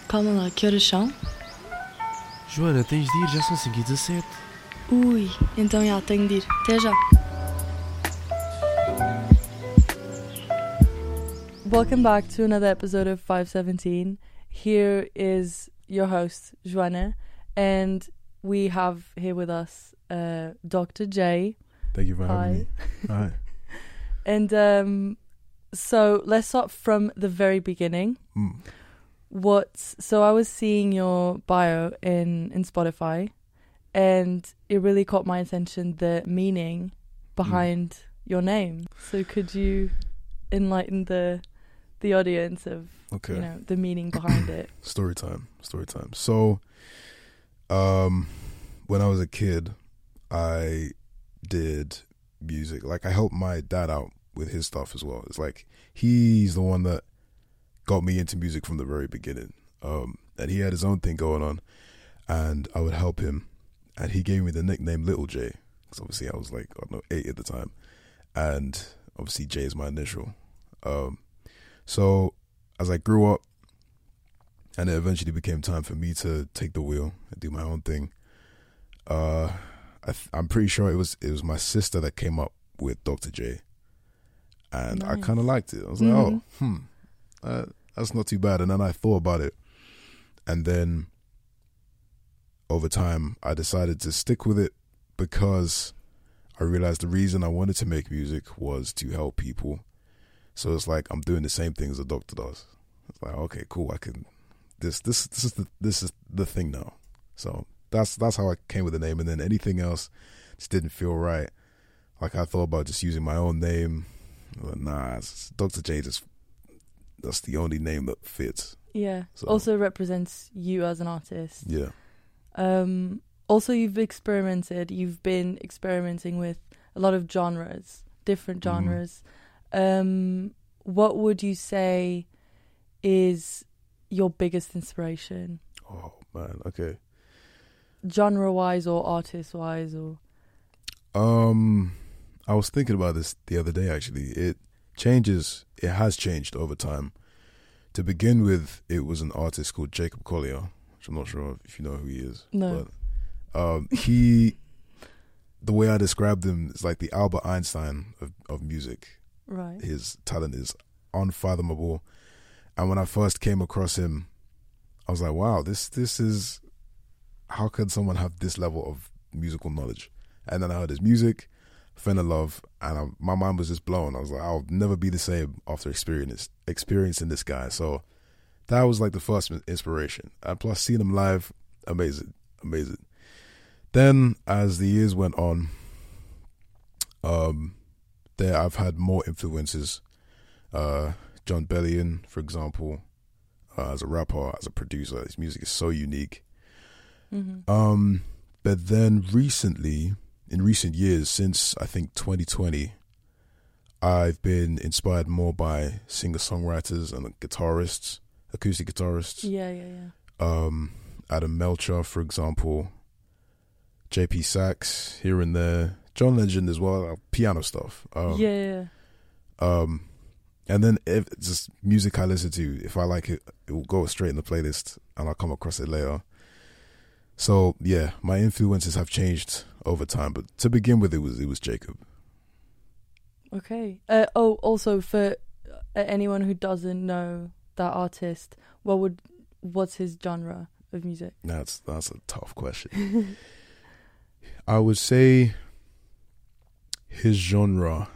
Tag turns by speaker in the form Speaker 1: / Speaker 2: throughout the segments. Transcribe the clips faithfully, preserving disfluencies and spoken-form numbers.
Speaker 1: Calma lá, que horas são?
Speaker 2: Joana, tens de ir, já são cinco e dezassete.
Speaker 1: Ui, então já, tenho de ir. Até já. Welcome back to another episode of five seventeen. Here is your host, Joana, and we have here with us uh, Doctor J.
Speaker 3: Thank you for having
Speaker 1: Hi.
Speaker 3: me. Hi.
Speaker 1: And um, so let's start from the very beginning.
Speaker 3: Mm.
Speaker 1: What's so I was seeing your bio in, in Spotify, and it really caught my attention, the meaning behind mm. your name. So could you enlighten the the audience of
Speaker 3: okay.
Speaker 1: you know the meaning behind it?
Speaker 3: Story time. Story time. So, um, when I was a kid, I did music. Like I helped my dad out with his stuff as well. It's like he's the one that got me into music from the very beginning. Um, and he had his own thing going on, and I would help him. And he gave me the nickname Little J, because obviously I was like, I don't know, eight at the time. And obviously J is my initial. Um, so as I grew up, and it eventually became time for me to take the wheel and do my own thing, uh, I th- I'm pretty sure it was it was my sister that came up with Doctor J. And nice. I kind of liked it. I was
Speaker 1: mm-hmm.
Speaker 3: like, oh, hmm. Uh, that's not too bad. And then I thought about it, and then over time I decided to stick with it because I realized the reason I wanted to make music was to help people. So it's like I'm doing the same things a doctor does. It's like, okay, cool, I can this this this is the this is the thing now. So that's that's how I came with the name. And then anything else just didn't feel right. Like I thought about just using my own name. But nah, it's Doctor J just that's the only name that fits.
Speaker 1: Yeah.
Speaker 3: So.
Speaker 1: Also represents you as an artist.
Speaker 3: Yeah.
Speaker 1: Um, also, you've experimented. You've been experimenting with a lot of genres, different genres. Mm. Um, what would you say is your biggest inspiration?
Speaker 3: Oh man, okay.
Speaker 1: Genre-wise or artist-wise, or
Speaker 3: um, I was thinking about this the other day. Actually, it. changes, it has changed over time. To begin with, it was an artist called Jacob Collier, which I'm not sure if you know who he is.
Speaker 1: No.
Speaker 3: But um, he, the way I described him is like the Albert Einstein of, of music.
Speaker 1: Right.
Speaker 3: His talent is unfathomable. And when I first came across him, I was like, wow, this this is, how can someone have this level of musical knowledge? And then I heard his music, fell in love, and I, my mind was just blown. I was like, I'll never be the same after experience, experiencing this guy. So that was like the first inspiration. And plus seeing him live, amazing, amazing. Then as the years went on, um, there I've had more influences. Uh, Jon Bellion, for example, uh, as a rapper, as a producer, his music is so unique.
Speaker 1: Mm-hmm.
Speaker 3: Um, but then recently, in recent years, since I think twenty twenty, I've been inspired more by singer-songwriters and guitarists, acoustic guitarists.
Speaker 1: Yeah, yeah, yeah.
Speaker 3: Um, Adam Melcher, for example, J P Sax here and there, John Legend as well, uh, piano stuff. Um,
Speaker 1: yeah, yeah.
Speaker 3: Um, and then if it's just music I listen to, if I like it, it will go straight in the playlist, and I'll come across it later. So yeah, my influences have changed over time, but to begin with, it was it was Jacob.
Speaker 1: Okay. Uh, oh, also for uh, anyone who doesn't know that artist, what would what's his genre of music?
Speaker 3: That's that's a tough question. I would say his genre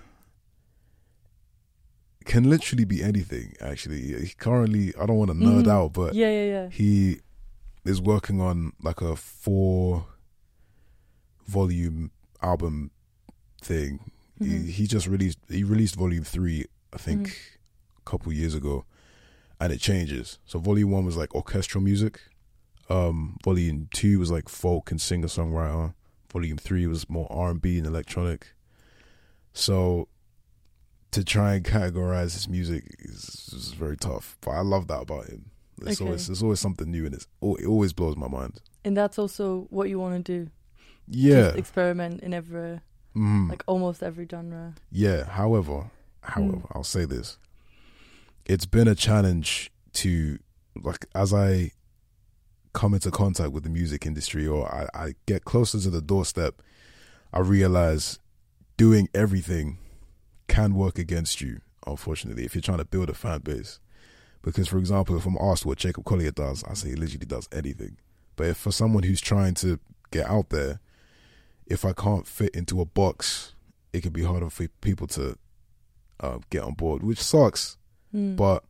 Speaker 3: can literally be anything. Actually, he currently, I don't want to nerd
Speaker 1: mm.
Speaker 3: out, but
Speaker 1: yeah, yeah, yeah.
Speaker 3: he is working on like a four volume album thing.
Speaker 1: Mm-hmm.
Speaker 3: He, he just released he released volume three, I think,
Speaker 1: mm-hmm.
Speaker 3: a couple years ago, and it changes. So volume one was like orchestral music, um, volume two was like folk and singer songwriter, volume three was more R and B and electronic. So to try and categorize his music is, is very tough, but I love that about him. It's
Speaker 1: okay.
Speaker 3: always there's always something new, and it's it always blows my mind.
Speaker 1: And that's also what you want to do.
Speaker 3: Yeah,
Speaker 1: just experiment in every,
Speaker 3: mm.
Speaker 1: like almost every genre.
Speaker 3: Yeah. However, however,
Speaker 1: mm.
Speaker 3: I'll say this: it's been a challenge to, like, as I come into contact with the music industry, or I, I get closer to the doorstep, I realize doing everything can work against you, unfortunately, if you're trying to build a fan base. Because, for example, if I'm asked what Jacob Collier does, I say he literally does anything. But if for someone who's trying to get out there, if I can't fit into a box, it can be harder for people to uh, get on board, which sucks.
Speaker 1: Mm.
Speaker 3: But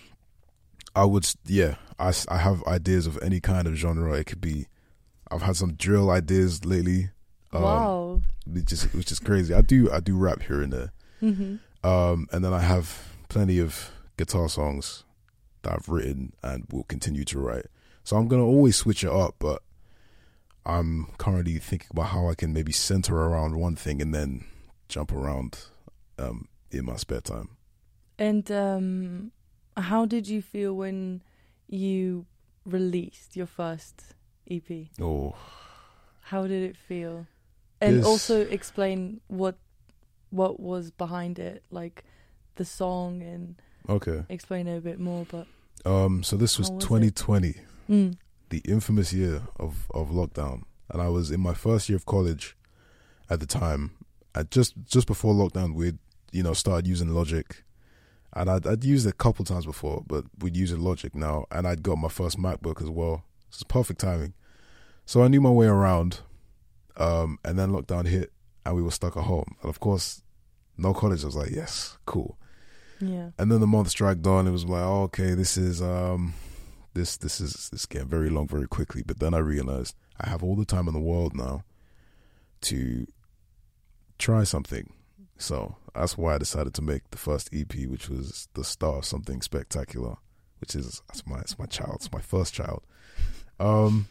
Speaker 3: I would, yeah, I, I have ideas of any kind of genre. It could be, I've had some drill ideas lately. Um,
Speaker 1: Wow.
Speaker 3: Which is, which is crazy. I do, I do rap here and there.
Speaker 1: Mm-hmm.
Speaker 3: Um, and then I have plenty of guitar songs that I've written and will continue to write. So I'm going to always switch it up, but I'm currently thinking about how I can maybe center around one thing and then jump around um, in my spare time.
Speaker 1: And um, how did you feel when you released your first E P?
Speaker 3: Oh,
Speaker 1: How did it feel? And
Speaker 3: This-
Speaker 1: also explain what what was behind it, like the song, and
Speaker 3: okay.
Speaker 1: explain it a bit more. But
Speaker 3: Um, so this was,
Speaker 1: How was it?
Speaker 3: twenty twenty,
Speaker 1: mm.
Speaker 3: the infamous year of, of lockdown. And I was in my first year of college at the time. And just, just before lockdown, we'd, you know, started using Logic. And I'd, I'd used it a couple times before, but we'd use Logic now. And I'd got my first MacBook as well. This is perfect timing. So I knew my way around. Um, and then lockdown hit and we were stuck at home. And of course, no college. I was like, yes, cool.
Speaker 1: yeah,
Speaker 3: And then the months dragged on. It was like, oh, okay, this is um, this this is this is getting very long very quickly. But then I realized I have all the time in the world now to try something. So that's why I decided to make the first E P, which was the start of something spectacular, which is that's my it's my child, it's my first child. Um,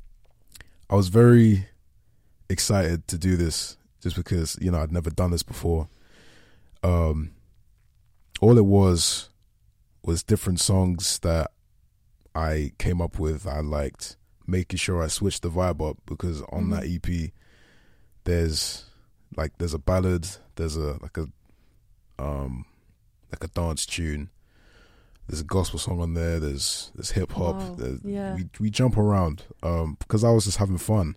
Speaker 3: I was very excited to do this just because, you know, I'd never done this before. Um. All it was was different songs that I came up with. I liked making sure I switched the vibe up because on
Speaker 1: Mhm.
Speaker 3: that E P, there's like there's a ballad, there's a like a um like a dance tune, there's a gospel song on there, there's there's hip hop.
Speaker 1: Wow,
Speaker 3: there's-
Speaker 1: yeah.
Speaker 3: We we jump around um because I was just having fun,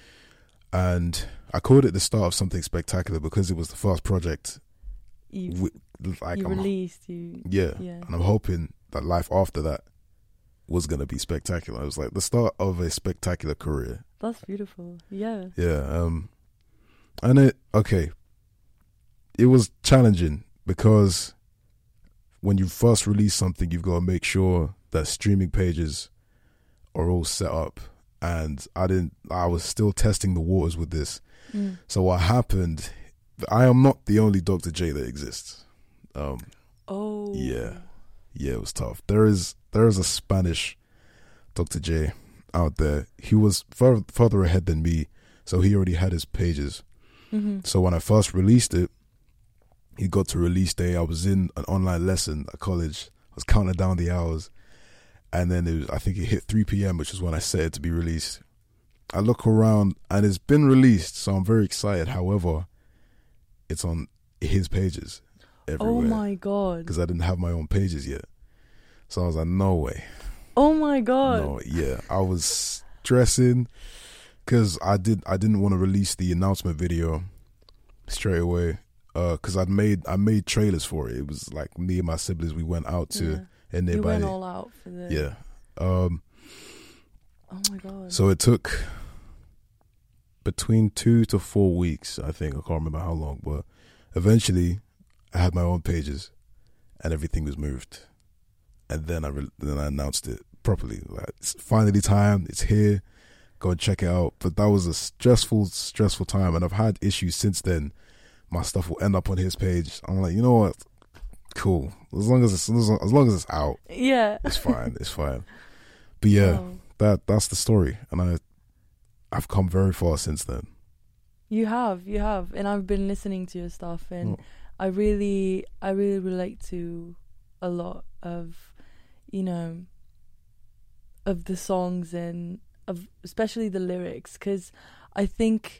Speaker 3: and I called it the start of something spectacular because it was the first project.
Speaker 1: you
Speaker 3: Wi- like
Speaker 1: you
Speaker 3: I'm,
Speaker 1: released you.
Speaker 3: yeah.
Speaker 1: Yeah.
Speaker 3: And I'm hoping that life after that was going to be spectacular. It was like the start of a spectacular career.
Speaker 1: That's beautiful. Yeah.
Speaker 3: Yeah. Um, and it, okay, it was challenging because when you first release something, you've got to make sure that streaming pages are all set up. And I didn't, I was still testing the waters with this.
Speaker 1: Mm.
Speaker 3: So what happened, I am not the only Doctor J that exists. Um,
Speaker 1: Oh.
Speaker 3: Yeah. Yeah, it was tough. There is there is a Spanish Doctor J out there. He was fur- further ahead than me, so he already had his pages.
Speaker 1: Mm-hmm.
Speaker 3: So when I first released it, he got to release day. I was in an online lesson at college. I was counting down the hours, and then it was, I think it hit three p.m., which is when I set it to be released. I look around, and it's been released, so I'm very excited. However, it's on his pages everywhere.
Speaker 1: Oh my god.
Speaker 3: Because I didn't have my own pages yet. So I was like, no way.
Speaker 1: Oh my god.
Speaker 3: No, yeah. I was stressing because I, did, I didn't want to release the announcement video straight away because uh, I'd made I made trailers for it. It was like me and my siblings, we went out to
Speaker 1: Yeah.
Speaker 3: a
Speaker 1: You
Speaker 3: nearby.
Speaker 1: went all out for the.
Speaker 3: Yeah. Um,
Speaker 1: Oh my god.
Speaker 3: so it took between two to four weeks, I think. I can't remember how long, but eventually I had my own pages and everything was moved. And then I re- then I announced it properly. Like, it's finally time. It's here. Go and check it out. But that was a stressful, stressful time. And I've had issues since then. My stuff will end up on his page. I'm like, you know what? Cool. As long as it's, as long as, long as it's out,
Speaker 1: Yeah.
Speaker 3: it's fine. It's fine. But yeah,
Speaker 1: Wow.
Speaker 3: that that's the story. And I, I've come very far since then.
Speaker 1: You have, you have, and I've been listening to your stuff, and
Speaker 3: Oh.
Speaker 1: I really, I really relate to a lot of, you know, of the songs and of especially the lyrics, because I think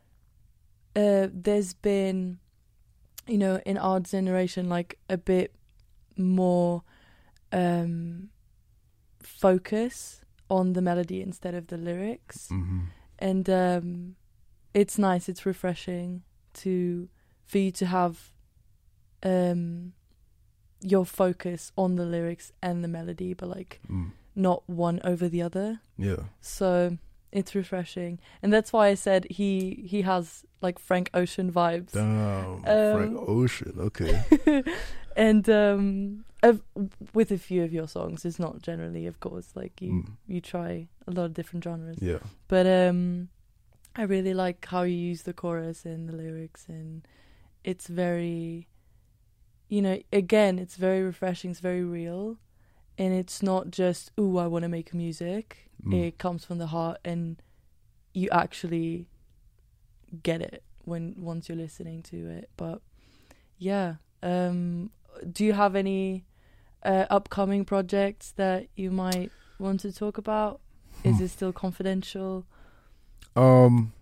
Speaker 1: uh, there's been, you know, in our generation, like a bit more um, focus on the melody instead of the lyrics.
Speaker 3: Mm-hmm.
Speaker 1: And um, it's nice, it's refreshing to for you to have um, your focus on the lyrics and the melody, but like
Speaker 3: Mm.
Speaker 1: not one over the other.
Speaker 3: Yeah.
Speaker 1: So it's refreshing, and that's why I said he he has like Frank Ocean vibes.
Speaker 3: Damn,
Speaker 1: Um,
Speaker 3: Frank Ocean. Okay.
Speaker 1: And um, of, with a few of your songs, it's not generally, of course, like you
Speaker 3: Mm.
Speaker 1: you try a lot of different genres.
Speaker 3: Yeah.
Speaker 1: But um, I really like how you use the chorus and the lyrics, and it's very, you know, again, it's very refreshing. It's very real, and it's not just, ooh, I want to make music.
Speaker 3: Mm.
Speaker 1: It comes from the heart, and you actually get it when once you're listening to it. But yeah, um, do you have any uh, upcoming projects that you might want to talk about? Is
Speaker 3: Hmm.
Speaker 1: it still confidential?
Speaker 3: Um.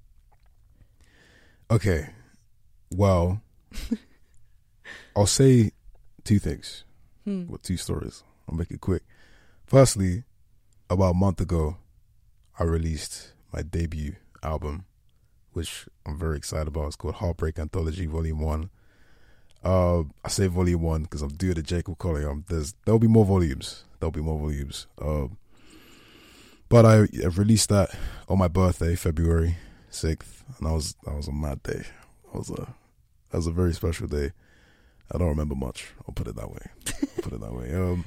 Speaker 3: Okay. Well, I'll say two things.
Speaker 1: Hmm.
Speaker 3: Well, two stories. I'll make it quick. Firstly, about a month ago, I released my debut album, which I'm very excited about. It's called Heartbreak Anthology Volume One. Uh, I say Volume One because I'm due to Jacob Collier. Um, there's there'll be more volumes. There'll be more volumes. Uh, but I, I released that on my birthday, February sixth, and that was that was a mad day. That was a that was a very special day. I don't remember much. I'll put it that way. I'll put it that way. Um,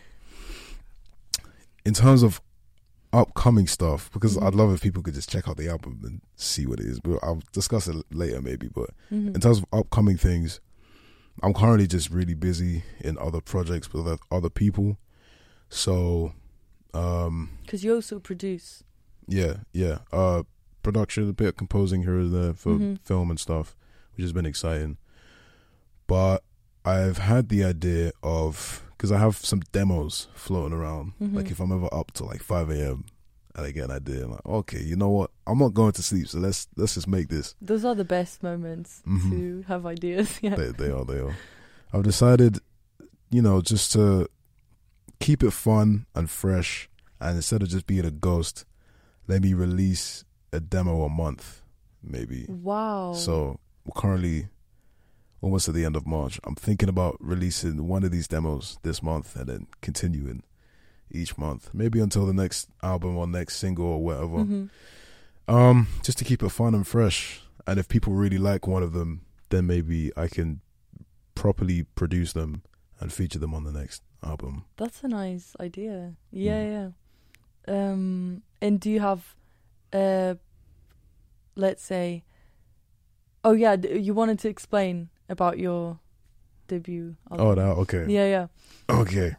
Speaker 3: in terms of upcoming stuff, because
Speaker 1: Mhm.
Speaker 3: I'd love if people could just check out the album and see what it is. But I'll discuss it later, maybe. But
Speaker 1: Mhm.
Speaker 3: in terms of upcoming things, I'm currently just really busy in other projects with oth- other people. So, um,
Speaker 1: Because you also produce.
Speaker 3: yeah, yeah. Uh, production, a bit of composing here and there for
Speaker 1: Mhm.
Speaker 3: film and stuff, which has been exciting. But I've had the idea of, because I have some demos floating around.
Speaker 1: Mhm.
Speaker 3: Like if I'm ever up to like five a.m. and I get an idea, I'm like, okay, you know what? I'm not going to sleep, so let's let's just make this.
Speaker 1: Those are the best moments
Speaker 3: Mhm.
Speaker 1: to have ideas. Yeah.
Speaker 3: They, they are, they are. I've decided, you know, just to keep it fun and fresh, and instead of just being a ghost, let me release a demo a month, maybe.
Speaker 1: Wow.
Speaker 3: So we're currently almost at the end of March. I'm thinking about releasing one of these demos this month and then continuing each month, maybe until the next album or next single or whatever.
Speaker 1: Mhm.
Speaker 3: Um, just to keep it fun and fresh. And if people really like one of them, then maybe I can properly produce them and feature them on the next album.
Speaker 1: That's a nice idea. Yeah,
Speaker 3: Mm.
Speaker 1: yeah. Um, and do you have, uh, let's say, oh yeah, d- you wanted to explain about your debut album.
Speaker 3: Oh, now, okay.
Speaker 1: Yeah, yeah.
Speaker 3: Okay.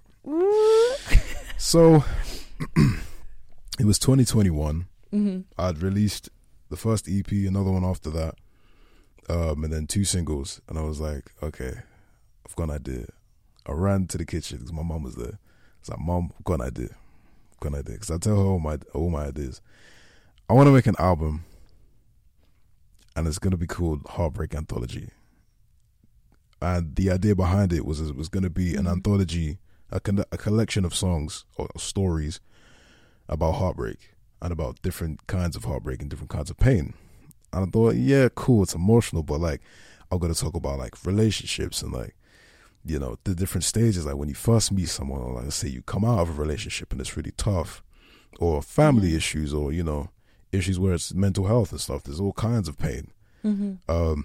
Speaker 3: So, it was twenty twenty-one.
Speaker 1: Mm-hmm.
Speaker 3: I'd released the first E P, another one after that, um, and then two singles. And I was like, okay, I've got an idea. I ran to the kitchen because my mom was there. I was like, Mom, I've got an idea. I've got an idea. Because I tell her all my, all my ideas. I want to make an album, and it's going to be called Heartbreak Anthology. And the idea behind it was it was going to be an
Speaker 1: Mhm.
Speaker 3: anthology, a, con- a collection of songs or stories about heartbreak and about different kinds of heartbreak and different kinds of pain. And I thought, yeah, cool, it's emotional, but like, I'm going to talk about like relationships and like, you know, the different stages, like when you first meet someone, or like let's say you come out of a relationship and it's really tough, or family
Speaker 1: Mhm.
Speaker 3: issues, or, you know, issues where it's mental health and stuff. There's all kinds of pain.
Speaker 1: Mm-hmm.
Speaker 3: Um,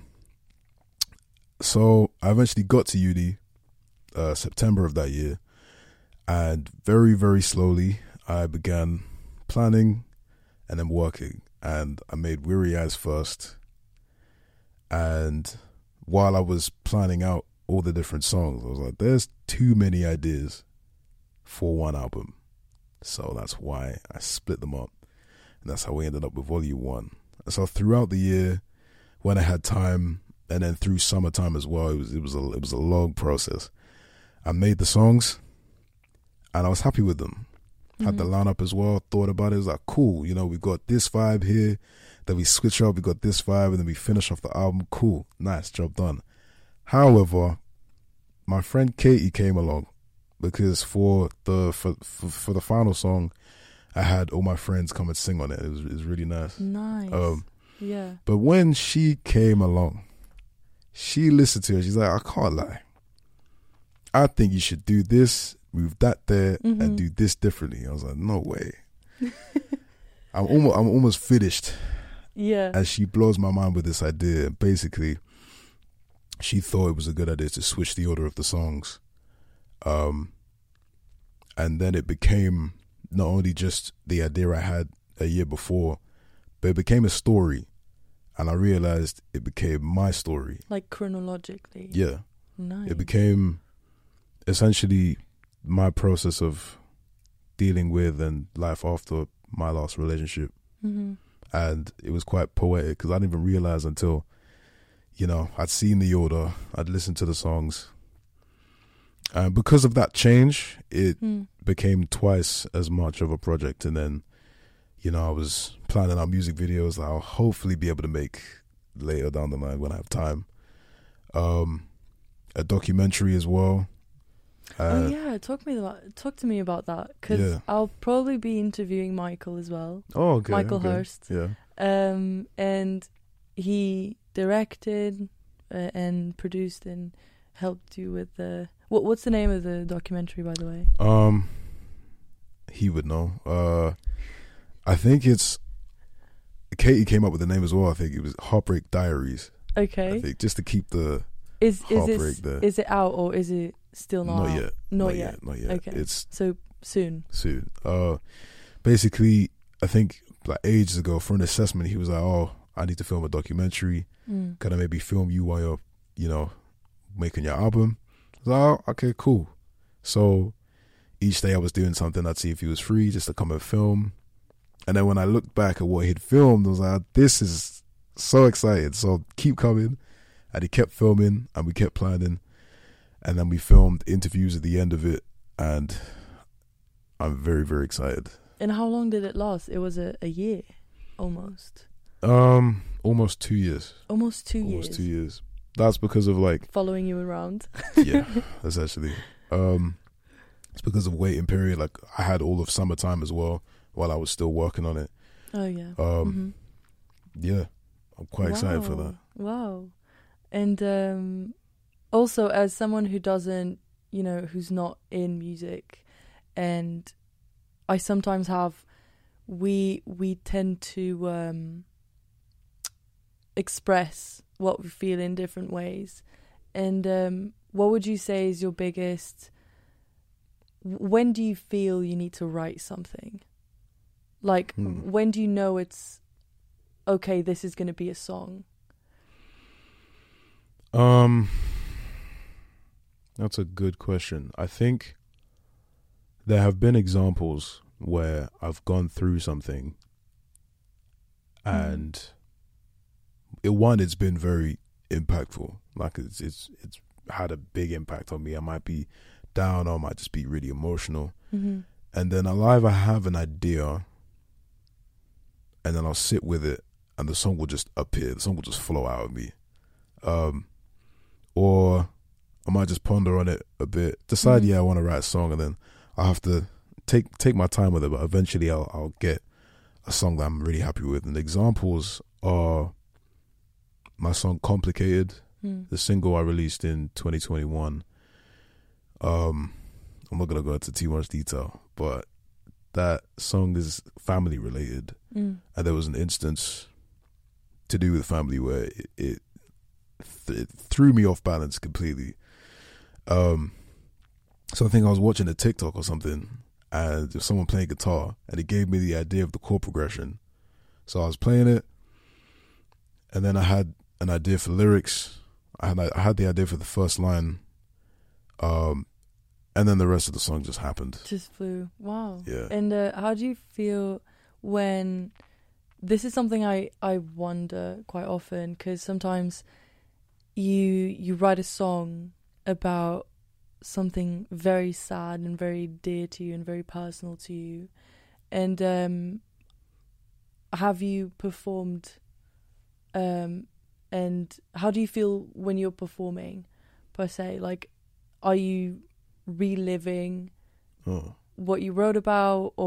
Speaker 3: so I eventually got to uni, uh, September of that year, and very, very slowly I began planning and then working, and I made Weary Eyes first. And while I was planning out all the different songs, I was like, there's too many ideas for one album. So that's why I split them up. And that's how we ended up with Volume One. And so throughout the year, when I had time, and then through summertime as well, it was it was a it was a long process. I made the songs, and I was happy with them. Had the
Speaker 1: Mhm.
Speaker 3: lineup as well. Thought about it. It was like, cool. You know, we've got this vibe here. Then we switch up. We got this vibe, and then we finish off the album. Cool, nice, job done. However, my friend Katie came along because for the for for, for the final song, I had all my friends come and sing on it. It was, it was really nice.
Speaker 1: Nice.
Speaker 3: Um,
Speaker 1: yeah.
Speaker 3: But when she came along, she listened to it. She's like, I can't lie. I think you should do this, move that there,
Speaker 1: Mm-hmm.
Speaker 3: and do this differently. I was like, no way. I'm almost, I'm almost finished.
Speaker 1: Yeah.
Speaker 3: And she blows my mind with this idea. Basically, she thought it was a good idea to switch the order of the songs. Um, and then it became not only just the idea I had a year before, but it became a story. And I realized it became my story.
Speaker 1: Like chronologically.
Speaker 3: Yeah.
Speaker 1: Nice.
Speaker 3: It became essentially my process of dealing with and life after my last relationship.
Speaker 1: Mm-hmm.
Speaker 3: And it was quite poetic because I didn't even realize until, you know, I'd seen the order, I'd listened to the songs. And because of that change, it
Speaker 1: Mm.
Speaker 3: became twice as much of a project. And then, you know, I was planning out music videos that I'll hopefully be able to make later down the line when I have time. Um, a documentary as well.
Speaker 1: oh
Speaker 3: Uh,
Speaker 1: yeah, talk me about talk to me about that because
Speaker 3: Yeah.
Speaker 1: I'll probably be interviewing Michael as well,
Speaker 3: Oh, okay.
Speaker 1: Michael
Speaker 3: okay.
Speaker 1: Hurst.
Speaker 3: Yeah.
Speaker 1: um, and he directed uh, and produced and helped you with the what? What's the name of the documentary, by the way?
Speaker 3: Um, he would know. Uh, I think it's Katie came up with the name as well. I think it was Heartbreak Diaries.
Speaker 1: Okay,
Speaker 3: I think just to keep the
Speaker 1: is is
Speaker 3: heartbreak
Speaker 1: it
Speaker 3: there.
Speaker 1: is it out or is it still not?
Speaker 3: not
Speaker 1: out?
Speaker 3: yet,
Speaker 1: Not,
Speaker 3: not
Speaker 1: yet.
Speaker 3: yet, not yet.
Speaker 1: Okay.
Speaker 3: It's
Speaker 1: So soon.
Speaker 3: soon. Uh, basically, I think like ages ago for an assessment, he was like, "Oh, I need to film a documentary.
Speaker 1: Mm.
Speaker 3: Can I maybe film you while you're, you know, making your album?" I was like, "Oh, okay, cool." So each day I was doing something. I'd see if he was free just to come and film. And then when I looked back at what he'd filmed, I was like, "This is so excited." So keep coming. And he kept filming, and we kept planning. And then we filmed interviews at the end of it, and I'm very, very excited.
Speaker 1: And how long did it last? It was a, a year, almost.
Speaker 3: Um, almost two years.
Speaker 1: Almost two
Speaker 3: almost
Speaker 1: years.
Speaker 3: two years. That's because of like,
Speaker 1: Following you around.
Speaker 3: yeah, essentially. Um, it's because of waiting period. Like I had all of summertime as well while I was still working on it.
Speaker 1: Oh yeah.
Speaker 3: Um,
Speaker 1: Mhm.
Speaker 3: yeah, I'm quite excited for that.
Speaker 1: Wow. And um, also, as someone who doesn't, you know, who's not in music, and I sometimes have, we we tend to um, express what we feel in different ways. And um, what would you say is your biggest? When do you feel you need to write something? Like,
Speaker 3: Hmm.
Speaker 1: when do you know it's okay? This is going to be a song.
Speaker 3: Um, that's a good question. I think there have been examples where I've gone through something and it one, it's been very impactful. Like it's it's it's had a big impact on me. I might be down or I might just be really emotional.
Speaker 1: Mm-hmm.
Speaker 3: And then I'll either have an idea and then I'll sit with it and the song will just appear. The song will just flow out of me. Um, or I might just ponder on it a bit, decide,
Speaker 1: Mhm.
Speaker 3: yeah, I want to write a song, and then I'll have to take take my time with it, but eventually I'll, I'll get a song that I'm really happy with. And the examples are my song Complicated,
Speaker 1: Mm.
Speaker 3: the single I released in twenty twenty-one. Um, I'm not going to go into too much detail, but that song is family related.
Speaker 1: Mm.
Speaker 3: And there was an instance to do with family where it, it, th- it threw me off balance completely. Um, so I think I was watching a TikTok or something, and there was someone playing guitar, and it gave me the idea of the chord progression. So I was playing it, and then I had an idea for lyrics. I had I had the idea for the first line, um, and then the rest of the song just happened.
Speaker 1: Just flew. Wow.
Speaker 3: Yeah.
Speaker 1: And uh, how do you feel when this is something I, I wonder quite often, because sometimes you you write a song about something very sad and very dear to you and very personal to you, and um, have you performed, um, and how do you feel when you're performing, per se? Like, are you reliving
Speaker 3: Oh.
Speaker 1: what you wrote about, or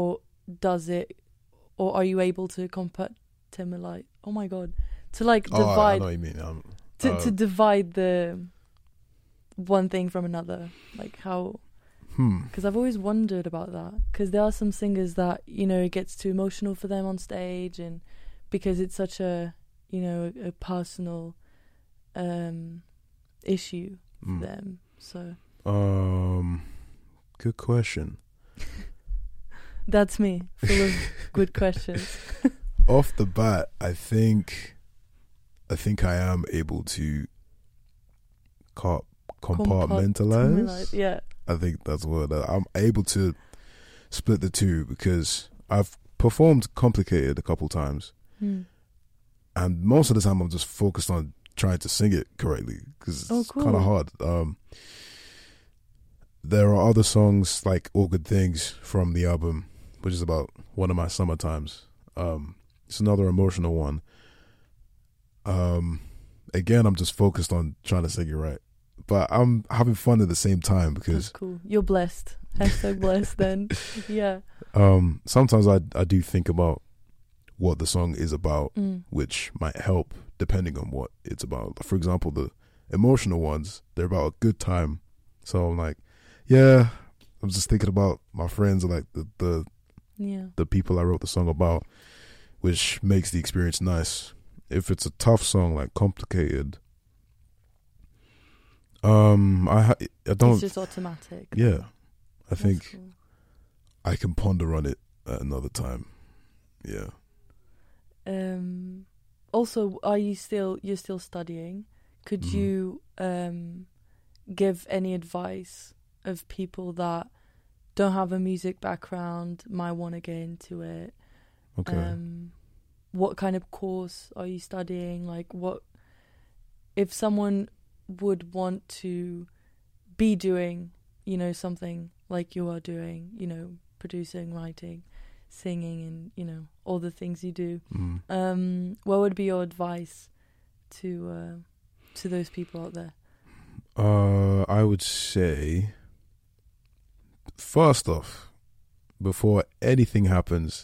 Speaker 1: does it, or are you able to compartmentalize? Oh my god, to like
Speaker 3: Oh, I, I
Speaker 1: divide
Speaker 3: know what you mean. Um,
Speaker 1: to
Speaker 3: uh,
Speaker 1: to divide the one thing from another, like how.
Speaker 3: hmm.
Speaker 1: Because I've always wondered about that. Because there are some singers that, you know, it gets too emotional for them on stage, and because it's such a, you know, a, a personal um, issue for
Speaker 3: Mm.
Speaker 1: them. So
Speaker 3: Um, good question.
Speaker 1: that's me, full of good questions.
Speaker 3: Off the bat, I think, I think I am able to co- compartmentalize.
Speaker 1: Yeah.
Speaker 3: I think that's what uh, I'm able to split the two, because I've performed Complicated a couple times,
Speaker 1: Hmm.
Speaker 3: and most of the time I'm just focused on trying to sing it correctly, because it's
Speaker 1: Oh, cool.
Speaker 3: kind of hard. Um, there are other songs like All Good Things from the album, which is about one of my summer times. Um, it's another emotional one. Um, again, I'm just focused on trying to sing it right, but I'm having fun at the same time,
Speaker 1: That's
Speaker 3: because
Speaker 1: cool. You're blessed. Hashtag blessed then. Yeah.
Speaker 3: um, sometimes I I do think about what the song is about,
Speaker 1: Mm.
Speaker 3: which might help depending on what it's about. For example, the emotional ones, they're about a good time. So I'm like, yeah, I'm just thinking about my friends, like the, the,
Speaker 1: Yeah.
Speaker 3: the people I wrote the song about, which makes the experience nice. If it's a tough song, like Complicated, um, I, ha- I don't,
Speaker 1: It's just automatic.
Speaker 3: yeah, I
Speaker 1: That's
Speaker 3: think
Speaker 1: cool.
Speaker 3: I can ponder on it at another time. Yeah.
Speaker 1: Um, also, are you still you're still studying? Could
Speaker 3: Mhm.
Speaker 1: you um, give any advice of people that don't have a music background, might want to get into it?
Speaker 3: Okay.
Speaker 1: Um, what kind of course are you studying? Like, what if someone would want to be doing, you know, something like you are doing, you know, producing, writing, singing, and, you know, all the things you do.
Speaker 3: Mm.
Speaker 1: Um, what would be your advice to uh, to those people out there?
Speaker 3: Uh, I would say, first off, before anything happens,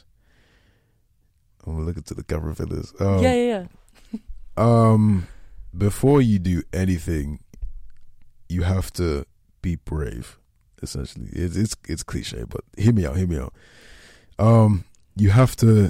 Speaker 3: I'm looking to the camera for this. Um,
Speaker 1: yeah, yeah, yeah.
Speaker 3: Um, before you do anything, you have to be brave. Essentially, it's it's it's cliche, but hear me out. Hear me out. Um, you have to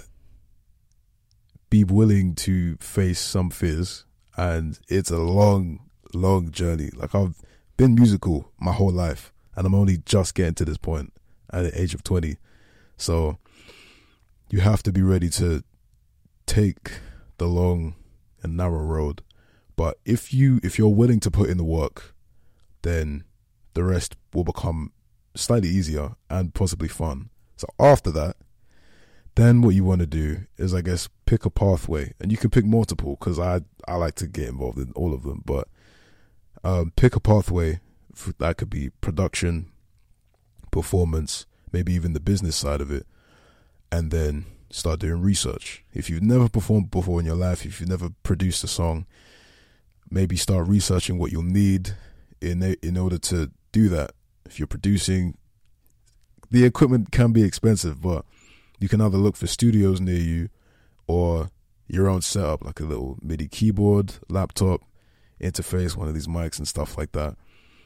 Speaker 3: be willing to face some fears, and it's a long, long journey. Like, I've been musical my whole life, and I'm only just getting to this point at the age of twenty. So you have to be ready to take the long and narrow road. But if you if you're willing to put in the work, then the rest will become slightly easier and possibly fun. So after that, then what you want to do is, I guess, pick a pathway, and you can pick multiple, because I I like to get involved in all of them. But um, pick a pathway for, that could be production, performance, maybe even the business side of it, and then start doing research. If you've never performed before in your life, if you've never produced a song, maybe start researching what you'll need in in order to do that. If you're producing, the equipment can be expensive, but you can either look for studios near you or your own setup, like a little MIDI keyboard, laptop, interface, one of these mics and stuff like that.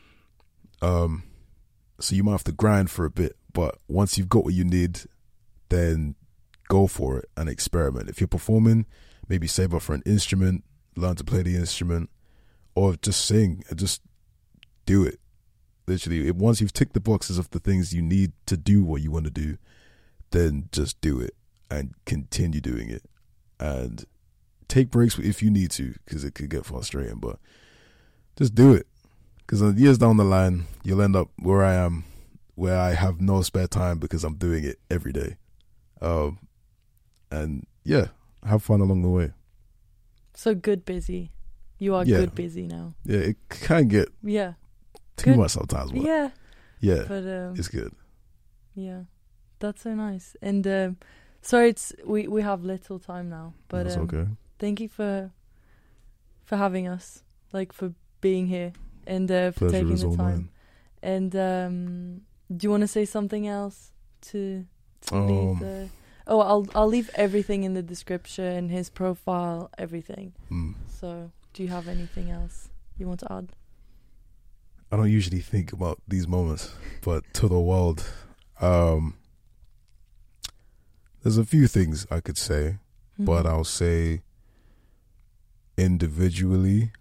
Speaker 3: Um, so you might have to grind for a bit, but once you've got what you need, then go for it and experiment. If you're performing, maybe save up for an instrument, learn to play the instrument, or just sing and just do it. Literally, once you've ticked the boxes of the things you need to do what you want to do, then just do it and continue doing it. And take breaks if you need to, because it could get frustrating, but just do it. Because years down the line, you'll end up where I am, where I have no spare time because I'm doing it every day. Um, and yeah, have fun along the way.
Speaker 1: So good busy. You are
Speaker 3: Yeah.
Speaker 1: good busy now.
Speaker 3: Yeah, it can get
Speaker 1: Yeah.
Speaker 3: too
Speaker 1: Good.
Speaker 3: much sometimes, but
Speaker 1: Yeah.
Speaker 3: yeah,
Speaker 1: But um,
Speaker 3: it's good.
Speaker 1: yeah, that's so nice. And um, sorry, it's we we have little time now, but
Speaker 3: That's
Speaker 1: um,
Speaker 3: okay.
Speaker 1: thank you for for having us, like for being here and uh, for
Speaker 3: Pleasure
Speaker 1: taking
Speaker 3: is
Speaker 1: the
Speaker 3: all
Speaker 1: time.
Speaker 3: mine.
Speaker 1: And um, do you want to say something else to to leave
Speaker 3: Um,
Speaker 1: the. Oh, I'll I'll leave everything in the description, his profile, everything.
Speaker 3: mm.
Speaker 1: So, do you have anything else you want to add?
Speaker 3: I don't usually think about these moments, but to the world, um, there's a few things I could say,
Speaker 1: Mm-hmm.
Speaker 3: but I'll say individually,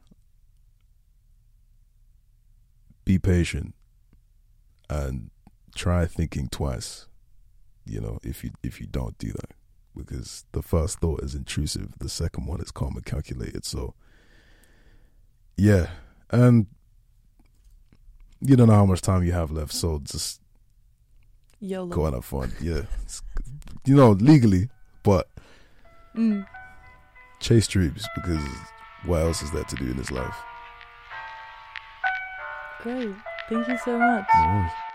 Speaker 3: be patient and try thinking twice. You know, if you if you don't do that, because the first thought is intrusive, the second one is calm and calculated. So, yeah, and you don't know how much time you have left, so just
Speaker 1: YOLO.
Speaker 3: go and have fun. Yeah, It's- you know, legally, but
Speaker 1: Mm.
Speaker 3: chase dreams, because what else is there to do in this life?
Speaker 1: Great. Thank you so much.
Speaker 3: No worries.